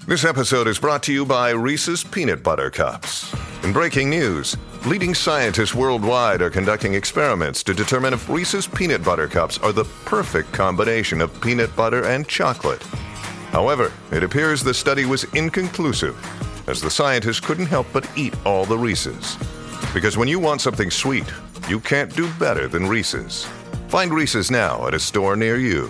This episode is brought to you by Reese's Peanut Butter Cups. In breaking news, leading scientists worldwide are conducting experiments to determine if Reese's Peanut Butter Cups are the perfect combination of peanut butter and chocolate. However, it appears the study was inconclusive, as the scientists couldn't help but eat all the Reese's. Because when you want something sweet, you can't do better than Reese's. Find Reese's now at a store near you.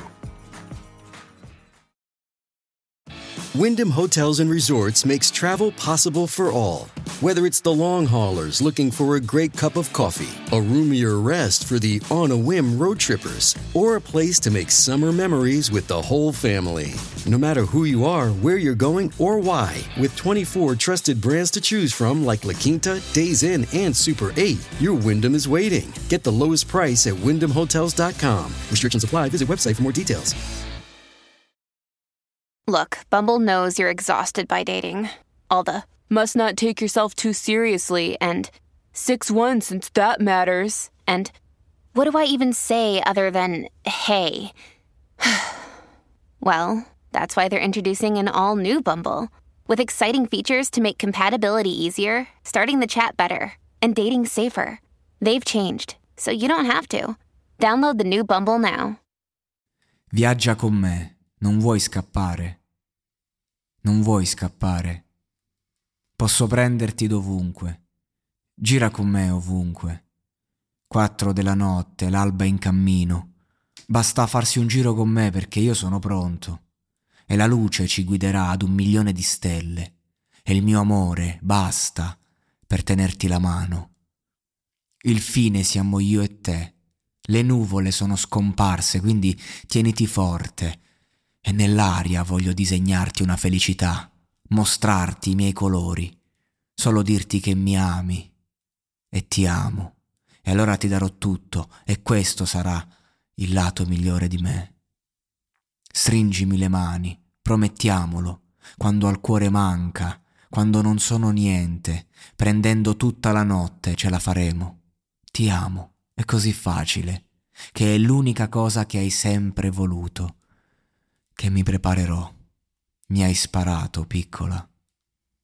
Wyndham Hotels and Resorts makes travel possible for all. Whether it's the long haulers looking for a great cup of coffee, a roomier rest for the on-a-whim road trippers, or a place to make summer memories with the whole family. No matter who you are, where you're going, or why, with 24 trusted brands to choose from like La Quinta, Days Inn, and Super 8, your Wyndham is waiting. Get the lowest price at WyndhamHotels.com. Restrictions apply. Visit website for more details. Look, Bumble knows you're exhausted by dating. All the, must not take yourself too seriously, and 6'1" since that matters, and what do I even say other than, hey? Well, that's why they're introducing an all-new Bumble, with exciting features to make compatibility easier, starting the chat better, and dating safer. They've changed, so you don't have to. Download the new Bumble now. Viaggia con me. Non vuoi scappare? Non vuoi scappare? Posso prenderti dovunque. Gira con me ovunque. 4 della notte, l'alba in cammino. Basta farsi un giro con me perché io sono pronto. E la luce ci guiderà ad 1.000.000 di stelle. E il mio amore basta per tenerti la mano. Il fine siamo io e te. Le nuvole sono scomparse, quindi tieniti forte. E nell'aria voglio disegnarti una felicità, mostrarti i miei colori, solo dirti che mi ami e ti amo. E allora ti darò tutto e questo sarà il lato migliore di me. Stringimi le mani, promettiamolo, quando al cuore manca, quando non sono niente, prendendo tutta la notte ce la faremo. Ti amo, è così facile, che è l'unica cosa che hai sempre voluto. Che mi preparerò. Mi hai sparato, piccola.